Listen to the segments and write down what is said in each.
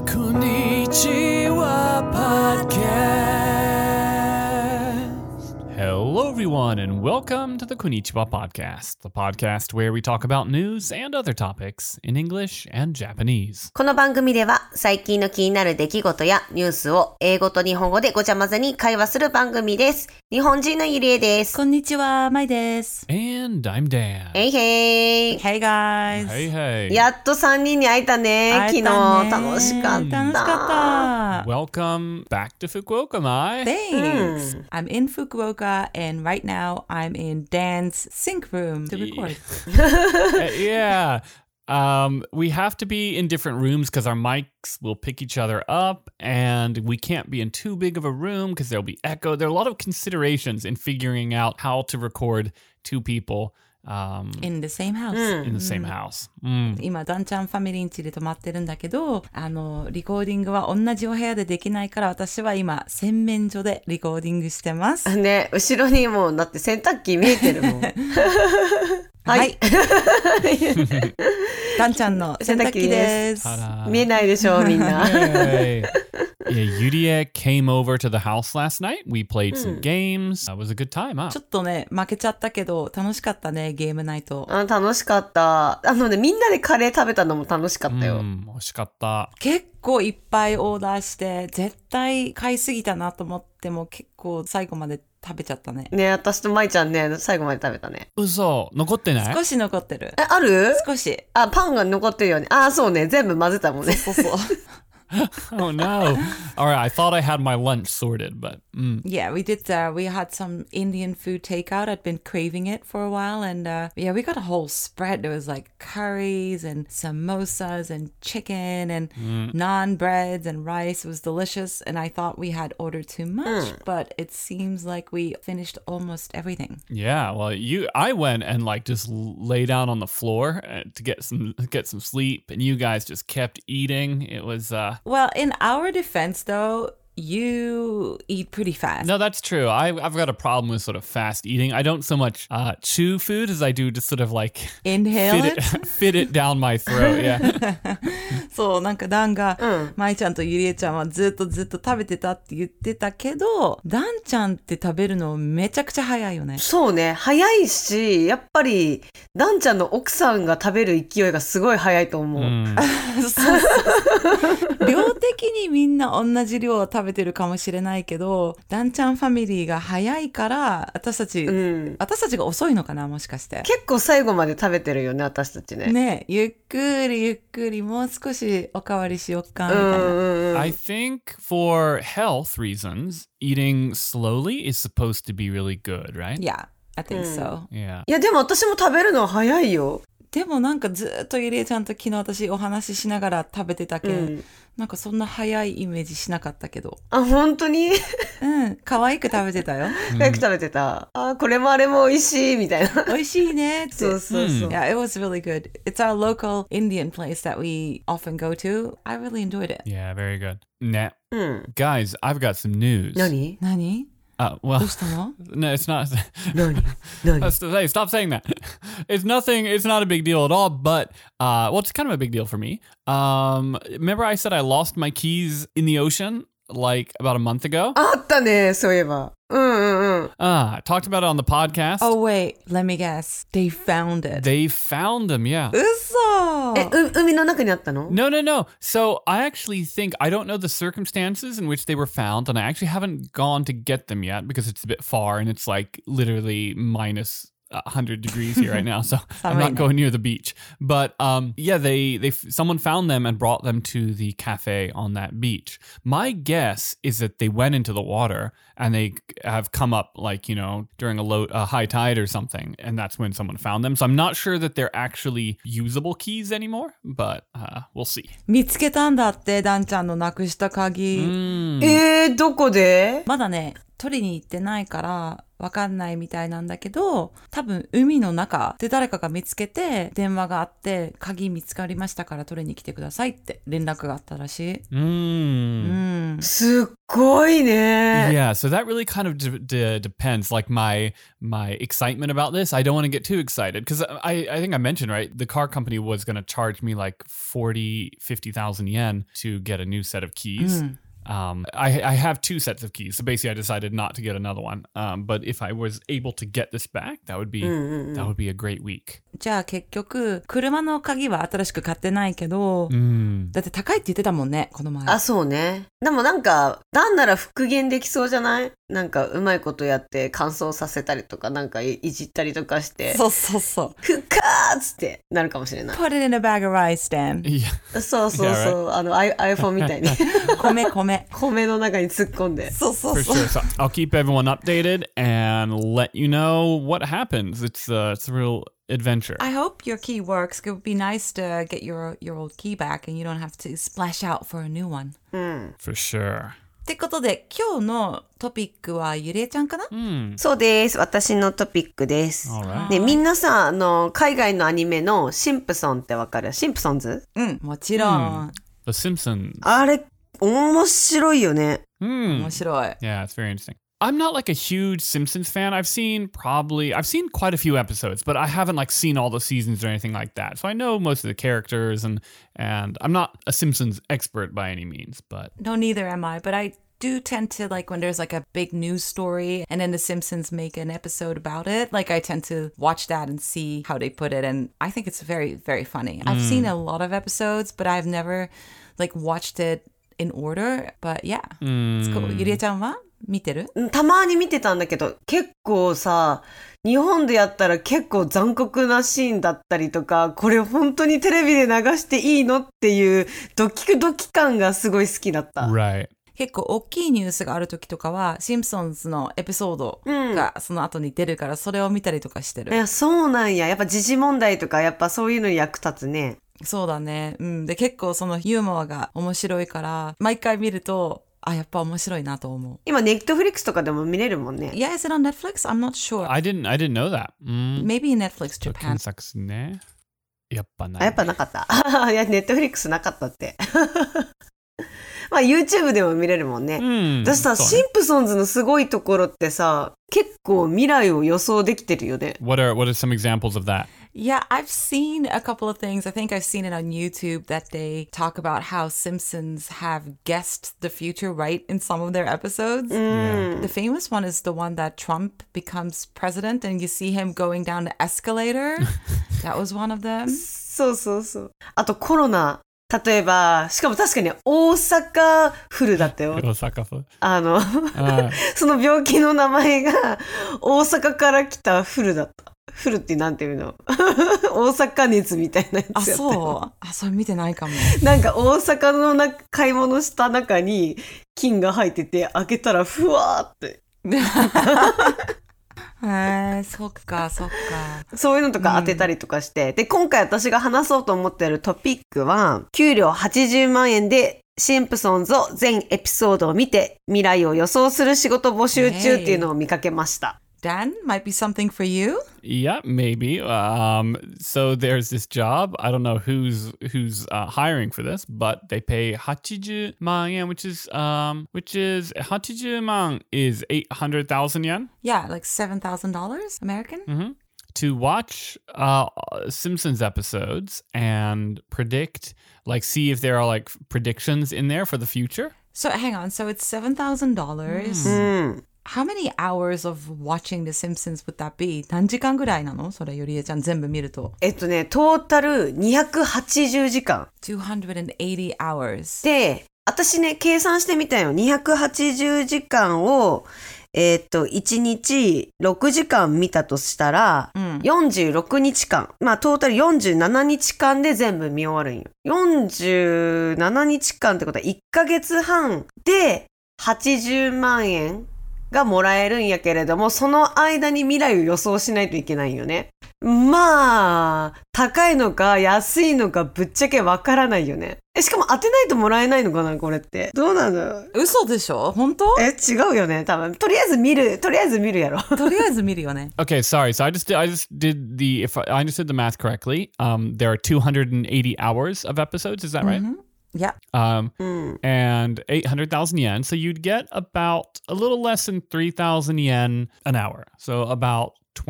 Konnichiwa Podcast.Hello, everyone, and welcome to the Konnichiwa Podcast, the podcast where we talk about news and other topics in English and Japanese. この番組では最近の気になる出来事やニュースを英語と日本語でごちゃ混ぜに会話する番組です。日本人のゆりえです。 こんにちは、まいです。 And I'm Dan. Hey hey. Hey guys. Hey, hey. やっと3人に会えたね。昨日楽しかった。 楽しかった。 Welcome back to Fukuoka, Mai. Thanks. I'm in Fukuoka and right now I'm in Dan's sync room to record. Yeah. We have to be in different rooms because our mics will pick each other up and we can't be in too big of a room because there'll be echo. There are a lot of considerations in figuring out how to record two people in the same house. In the same house. 今、ダンちゃんファミリーん家で泊まってるんだけど、リコーディングは同じお部屋でできないから私は今、洗面所でリコーディングしてます。 ね、後ろにもうだって洗濯機見えてるもん。はい。 ダンちゃんの洗濯機です。 見えないでしょ、みんな。 Yeah, Yurie came over to the house last night. We played some games. It was a good time, huh? ちょっとね、負けちゃったけど、楽しかったね、ゲームナイト。 楽しかった。みんなでカレー食べたのも楽しかったよ。 美味しかった。 結構いっぱいオーダーして、絶対買いすぎたなと思っても、結構最後まで食べちゃったね。 ね、私と舞ちゃんね、最後まで食べたね。 嘘、残ってない？ 少し残ってる。 ある？ 少し。 パンが残ってるよね。そうね、全部混ぜたもんね。 そうそう。 Oh no. All right, I thought I had my lunch sorted, but Yeah, we did. We had some Indian food takeout. I'd been craving it for a while, and yeah, we got a whole spread. There was like curries and samosas and chicken and naan breads and rice. It was delicious, and I thought we had ordered too much, but it seems like we finished almost everything. Yeah, well, I went and like just lay down on the floor to get some sleep, and you guys just kept eating. It was Well, in our defense, though, you eat pretty fast. No, that's true. I've got a problem with sort of fast eating. I don't so much chew food as I do just sort of like Inhale it? fit it down my throat. Yeah. そう、なんかダンが、まいちゃんとゆりえちゃんはずっと食べてたって言ってたけど、ダンちゃんって食べるのめちゃくちゃ早いよね。 そうね、早いし、やっぱりダンちゃんの奥さんが食べる勢いがすごい早いと思う。 そう量的にみんな同じ量を食べてるかもしれないけど、ダンちゃんファミリーが早いから私たちが遅いのかな、もしかして。 結構最後まで食べてるよね、私たちね。 ね、ゆっくりもう少しおかわりしよっかみたいな。 I think for health reasons, eating slowly is supposed to be really good, right? Yeah, I think so. Yeah. いや、でも私も食べるの早いよ。 でもなんかずっとゆりえちゃんと昨日私お話ししながら食べてたけん、なんかそんな早いイメージしなかったけど。 本当に？ 可愛く食べてたよ。 可愛く食べてた。これもあれも美味しいみたいな。 美味しいねって。 そう。 Yeah, it was really good. It's our local Indian place that we often go to. I really enjoyed it. Yeah, very good. Nah. Guys, I've got some news. 何？ Well, どうしたの？ No, it's not. 何？ Stop saying that. It's nothing. It's not a big deal at all. But well, it's kind of a big deal for me. Remember, I said I lost my keys in the ocean like about a month ago. あったね、そういえば。 I talked about it on the podcast. Oh wait, let me guess. They found it. They found them. Yeah. 嘘。 海の中にあったの？ No. So I actually think I don't know the circumstances in which they were found, and I actually haven't gone to get them yet because it's a bit far and it's like literally minus 100 degrees here right now, so I'm not going near the beach. But yeah, someone found them and brought them to the cafe on that beach. My guess is that they went into the water and they have come up like, during a high tide or something, and that's when someone found them. So I'm not sure that they're actually usable keys anymore, but we'll see. 見つけたんだって、ダンちゃんのなくした鍵。 どこで？ まだね、取りに行ってないからわかんないみたいなんだけど、多分海の中で誰かが見つけて電話があって、鍵見つかりましたから取りに来てくださいって連絡があったらしい。 すっごいね。 Yeah, so that really kind of depends. Like my excitement about this, I don't want to get too excited because I think I mentioned, right, the car company was going to charge me like 50,000 yen to get a new set of keys. I have two sets of keys, so basically I decided not to get another one. But if I was able to get this back, that would be a great week. じゃあ結局、車の鍵は新しく買ってないけど、だって高いって言ってたもんね、この前。 あ、そうね。でもなんか、なんなら復元できそうじゃない？なんかうまいことやって乾燥させたりとか、なんかいじったりとかして。 そうそうそう。 ふっかーっつってなるかもしれない。 Put it in a bag of rice, Dan. Yeah. そうそうそう。iPhone みたいに。米の中に突っ込んで。 そうそう For そう。 sure. So I'll keep everyone updated and let you know what happens. It's a real adventure. I hope your key works. It would be nice to get your old key back and you don't have to splash out for a new one. For sure. ってことで、今日のトピックはゆりえちゃんかな？ そうです。私のトピックです。 Alright. ね、みんなさ、海外のアニメのシンプソンってわかる？シンプソンズ？ もちろん。 The Simpsons. あれ、面白いよね。 面白い。 Yeah, it's very interesting. I'm not like a huge Simpsons fan. I've seen quite a few episodes, but I haven't like seen all the seasons or anything like that. So I know most of the characters and I'm not a Simpsons expert by any means, but No, neither am I, but I do tend to like when there's like a big news story and then the Simpsons make an episode about it, like I tend to watch that and see how they put it, and I think it's very, very funny. I've seen a lot of episodes, but I've never like watched it in order, but yeah, it's cool. ゆりえちゃんは見てる？ たまに見てたんだけど、結構さ、日本でやったら結構残酷なシーンだったりとか、これ本当にテレビで流していいのっていうドキ感がすごい好きだった。 right. 結構大きいニュースがある時とかはシンプソンズのエピソードがその後に出るからそれを見たりとかしてる。 いや、そうなんや。やっぱ時事問題とかやっぱそういうのに役立つね。 そうだね。で結構そのユーモアが面白いから毎回見るとやっぱ面白いなと思う。 今ネットフリックスとかでも見れるもんね。 Yeah, is it on Netflix? I'm not sure. I didn't know that. Maybe Netflix Japan. 検索すね。やっぱない。 やっぱなかった。いや、ネットフリックスなかったって。まあ YouTube でも見れるもんね。私さ、シンプソンズのすごいところってさ、結構未来を予想できてるよね。 What are some examples of that? Yeah, I've seen a couple of things. I think I've seen it on YouTube that they talk about how Simpsons have guessed the future right in some of their episodes. The famous one is the one that Trump becomes president and you see him going down the escalator. That was one of them. そうそうそう。あとコロナ。例えば、しかも確かに大阪フルだったよ。 大阪フル。 その病気の名前が大阪から来たフルだった。フルってなんていうの？大阪熱みたいなやつやったよ。 それ見てないかも。 なんか大阪の買い物した中に菌が入ってて開けたらふわーって。 そっか。 そういうのとか当てたりとかして、で、今回私が話そうと思っているトピックは、給料80万円でシンプソンズを全エピソードを見て未来を予想する仕事募集中っていうのを見かけました。 Dan, might be something for you? Yeah, maybe. So there's this job. I don't know who's hiring for this, but they pay 80万円, which is 80万 is 800,000 yen. Yeah, like $7,000 American. To watch Simpsons episodes and predict, like, see if there are like predictions in there for the future. So hang on. So it's $7,000. How many hours of watching The Simpsons would that be? 何時間ぐらいなの？それゆりえちゃん全部見ると。 トータル280時間。 280 hours. で、私ね、計算してみたよ。280時間を、1日6時間見たとしたら、46日間。まあ、トータル47日間で全部見終わるんよ。47日間ってことは1ヶ月半で80万円がもらえるんやけれども、その間に未来を予想しないといけないよね。まあ、高いのか安いのかぶっちゃけわからないよね。 しかも当てないともらえないのかなこれって。どうなの？ 嘘でしょ？本当？ 違うよね多分。とりあえず見るやろ。 とりあえず見るよね。 Okay, sorry. So I just did the, if I understood the math correctly, there are 280 hours of episodes. Is that right? Yeah. And 800,000 yen. So you'd get about a little less than 3,000 yen an hour. So about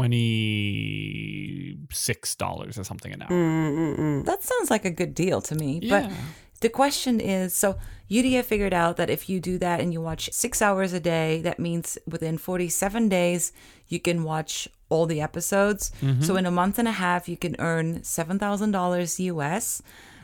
$26 or something an hour. That sounds like a good deal to me. Yeah. But the question is, so Yuria figured out that if you do that and you watch 6 hours a day, that means within 47 days, you can watch all the episodes. So in a month and a half, you can earn $7,000 US.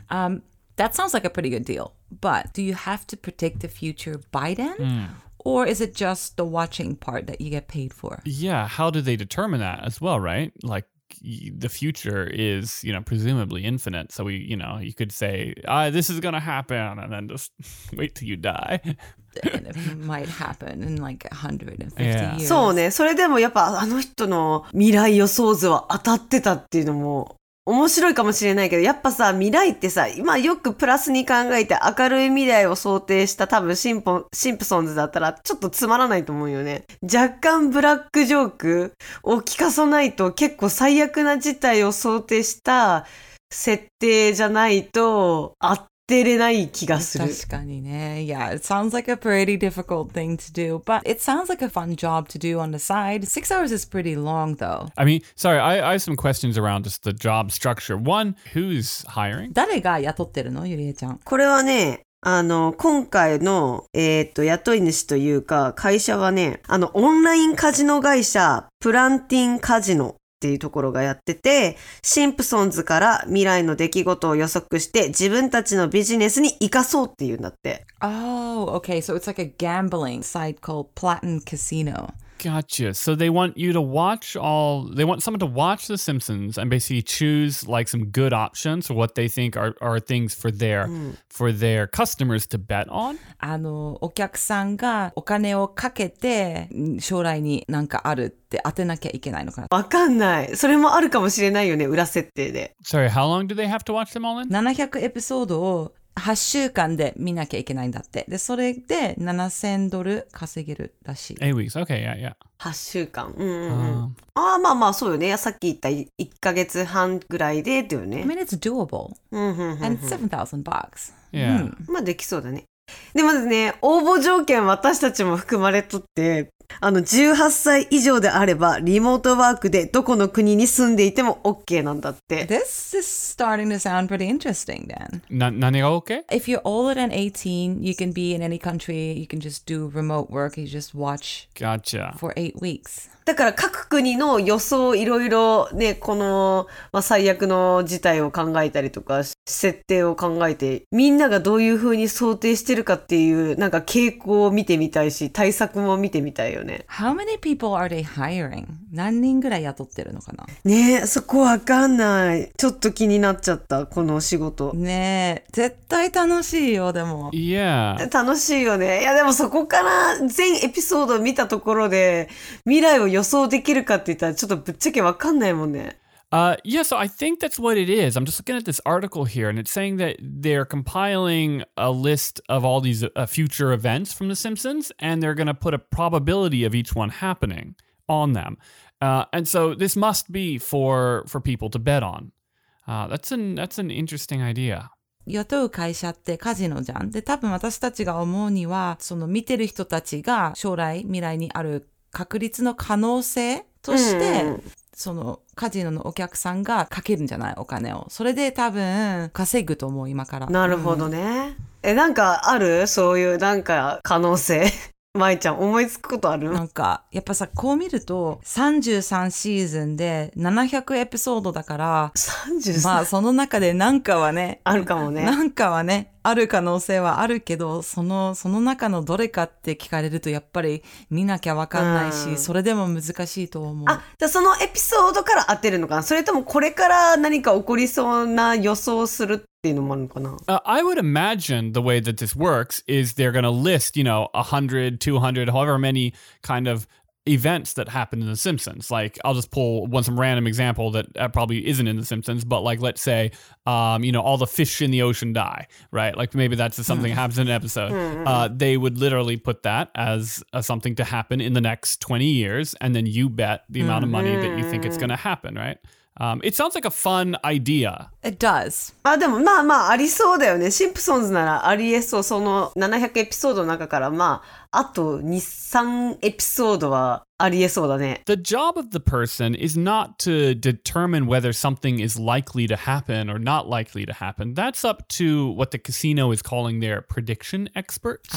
That sounds like a pretty good deal. But do you have to predict the future by then? Or is it just the watching part that you get paid for? Yeah. How do they determine that as well, right? Like the future is, presumably infinite. So you could say, this is going to happen and then just wait till you die. And it might happen in like 150 Yeah. years. そうね。それでもやっぱあの人の未来予想図は当たってたっていうのも面白いかもしれないけど、やっぱさ、未来ってさ、今よくプラスに考えて明るい未来を想定した多分シンプソンズだったらちょっとつまらないと思うよね。若干ブラックジョークを聞かさないと結構最悪な事態を想定した設定じゃないと当てれない気がする。 確かにね。Yeah, it sounds like a pretty difficult thing to do, but it sounds like a fun job to do on the side. 6 hours is pretty long, though. I mean, sorry, I have some questions around just the job structure. One, who's hiring? 誰が雇ってるの？ゆりえちゃん。 これはね、今回の、雇い主というか、会社はね、オンラインカジノ会社、プランティンカジノっていうところがやってて、シンプソンズから未来の出来事を予測して自分たちのビジネスに生かそうっていうんだって。 Oh, okay. So it's like a gambling site called Platin Casino. Gotcha. So they want you to they want someone to watch The Simpsons and basically choose like some good options for what they think are things for their customers to bet on. お客さんがお金をかけて将来になんかあるって当てなきゃいけないのかな。 わかんない。それもあるかもしれないよね、裏設定で。 Sorry, how long do they have to watch them all in? 700エピソードを8週間で見なきゃいけないんだって。で、それで$7,000稼げるらしい。 8 weeks. Okay, yeah. 8週間。まあそうよね。さっき言った1ヶ月半ぐらいでっていうね。 I mean, it's doable. And $7,000. Yeah. まあできそうだね。でもですね、応募条件私たちも含まれとって、18歳以上であれば、リモートワークでどこの国に住んでいても OK なんだって。 This is starting to sound pretty interesting, Dan. 何が OK? If you're older than 18, you can be in any country. You can just do remote work. You just watch Gotcha. for 8 weeks. だから各国の予想いろいろね、この、最悪の事態を考えたりとか、設定を考えて、みんながどういう風に想定してるかっていう、なんか傾向を見てみたいし、対策も見てみたいよね。 How many people are they hiring? 何人ぐらい雇ってるのかな？ ねえ、そこわかんない。ちょっと気になっちゃった、この仕事。 ねえ、絶対楽しいよ、でも。 Yeah. 楽しいよね。いやでもそこから全エピソードを見たところで、未来を予想できるかって言ったらちょっとぶっちゃけわかんないもんね。 Yeah, so I think that's what it is. I'm just looking at this article here, and it's saying that they're compiling a list of all these future events from The Simpsons, and they're going to put a probability of each one happening on them. And so this must be for people to bet on. That's an interesting idea. 雇う会社ってカジノじゃん。で、多分私たちが思うには、その見てる人たちが将来、未来にある確率の可能性として、そのカジノのお客さんがかけるんじゃないお金を。それで多分稼ぐと思う今から。 なるほどね。なんかある？そういうなんか可能性。舞ちゃん思いつくことある？ なんかやっぱさこう見ると33シーズンで700エピソードだから 33 まあその中でなんかはねあるかもね。 なんかはねある可能性はあるけどその中のどれかって聞かれるとやっぱり見なきゃわかんないし、それでも難しいと思う。 あ、じゃあそのエピソードから当てるのかな？それともこれから何か起こりそうな予想をするっていうのもあるのかな？ I would imagine the way that this works is they're going to list, 100, 200, however many kind of events that happen in The Simpsons. Like, I'll just pull some random example that probably isn't in The Simpsons, but like, let's say, all the fish in the ocean die, right? Like, maybe that's something that happens in an episode. They would literally put that as something to happen in the next 20 years, and then you bet the amount of money that you think it's going to happen, right? It sounds like a fun idea. It does. でもまあまあありそうだよね。シンプソンズならありえそう。その700エピソードの中からあと2、3エピソードはありえそうだね。 The job of the person is not to determine whether something is likely to happen or not likely to happen. That's up to what the casino is calling their prediction experts.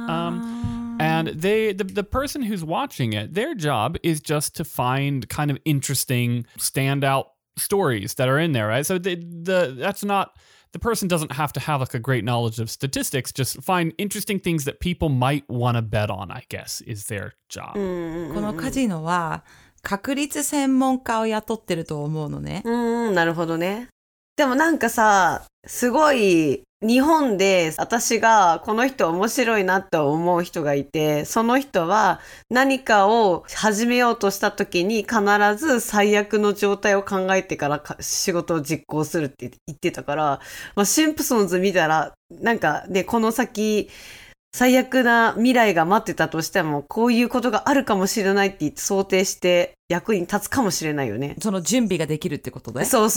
And the person who's watching it, their job is just to find kind of interesting standout stories that are in there, right? So that's not, the person doesn't have to have like a great knowledge of statistics, just find interesting things that people might want to bet on, I guess, is their job. このカジノは確率専門家を雇ってると思うのね。 なるほどね。でもなんかさ、すごい日本で私がこの人面白いなって思う人がいて、その人は何かを始めようとした時に必ず最悪の状態を考えてから仕事を実行するって言ってたから、シンプソンズ見たらなんかね、この先最悪な未来が待ってたとしてもこういうことがあるかもしれないって想定して役に立つかもしれないよね。 その準備ができるってことで。 そう。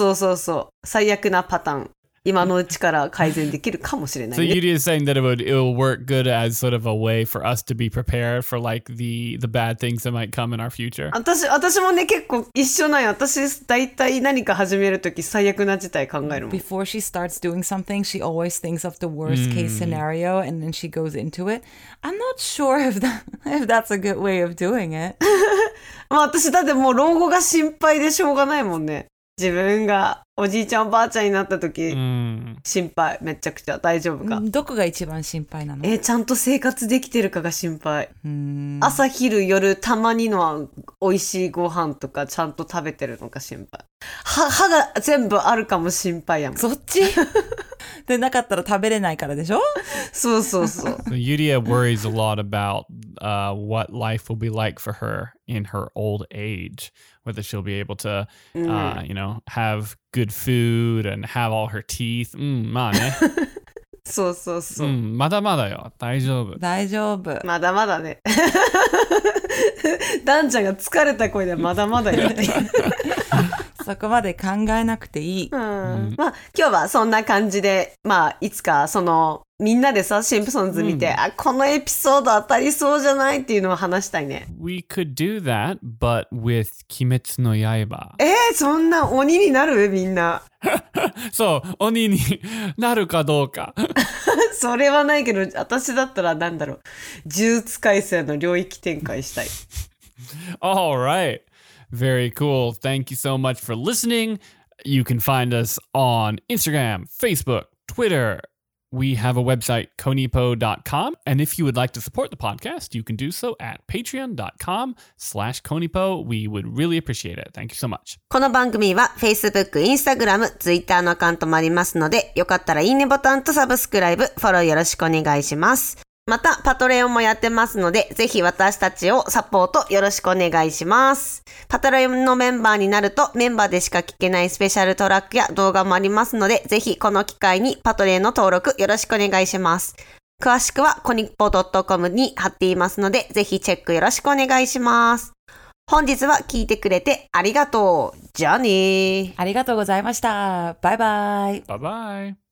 最悪なパターン。今のうちから改善できるかもしれないね。 So Yuri is saying that it will work good as sort of a way for us to be prepared for like the bad things that might come in our future. 私もね結構一緒なんよ。私大体何か始めるとき最悪な事態考えるもん。 Before she starts doing something, she always thinks of the worst case scenario and then she goes into it. I'm not sure if that's a good way of doing it. 私だってもう老後が心配でしょうがないもんね。自分がおじいちゃんおばあちゃんになった時、心配めちゃくちゃ。大丈夫か。 どこが一番心配なの？ ちゃんと生活できてるかが心配。朝昼夜たまにの美味しいご飯とかちゃんと食べてるのか心配。歯が全部あるかも心配やもん。 そっちでなかったら食べれないからでしょ。 そう。 Yuria worries a lot about what life will be like for her in her old age. Whether she'll be able to, have good food and have all her teeth. まあね。 そう。 まだまだよ。大丈夫。 まだまだね。ダンちゃんが疲れた声でまだまだよって。 そこまで考えなくていい。 今日はそんな感じで、いつかみんなでさ、シンプソンズ見て、このエピソード当たりそうじゃないっていうのを話したいね。 We could do that, but with 鬼滅の刃。 そんな鬼になるみんな。 そう、鬼になるかどうか。 それはないけど、私だったらなんだろう。呪術廻戦の領域展開したい。 All right. Very cool. Thank you so much for listening. You can find us on Instagram, Facebook, Twitter. We have a website, konipo.com. And if you would like to support the podcast, you can do so at patreon.com/konipo. We would really appreciate it. Thank you so much. この番組は Facebook、Instagram、Twitter のアカウントもありますので、よかったらいいねボタンとサブスクライブ、フォローよろしくお願いします。また、パトレオンもやってますので、ぜひ私たちをサポートよろしくお願いします。パトレオンのメンバーになると、メンバーでしか聞けないスペシャルトラックや動画もありますので、ぜひこの機会にパトレオンの登録よろしくお願いします。詳しくはコニポ .com に貼っていますので、ぜひチェックよろしくお願いします。本日は聞いてくれてありがとう。じゃあね。 ありがとうございました。バイバイ。 バイバイ。